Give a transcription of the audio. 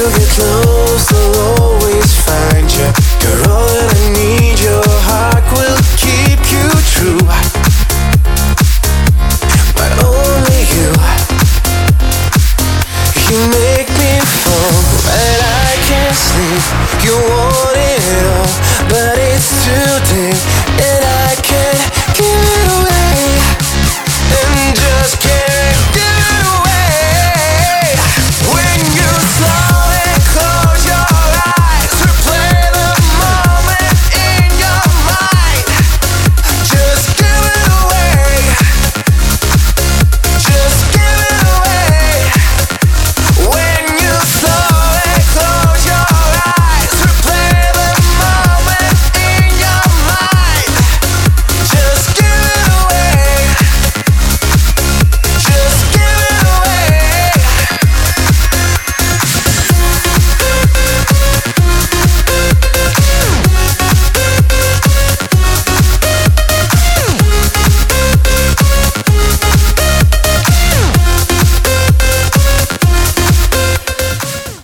get lost, I'll always find you. You're all that I need, your heart will keep you true. But only you. You make me fall, but I can't sleep. You want it all.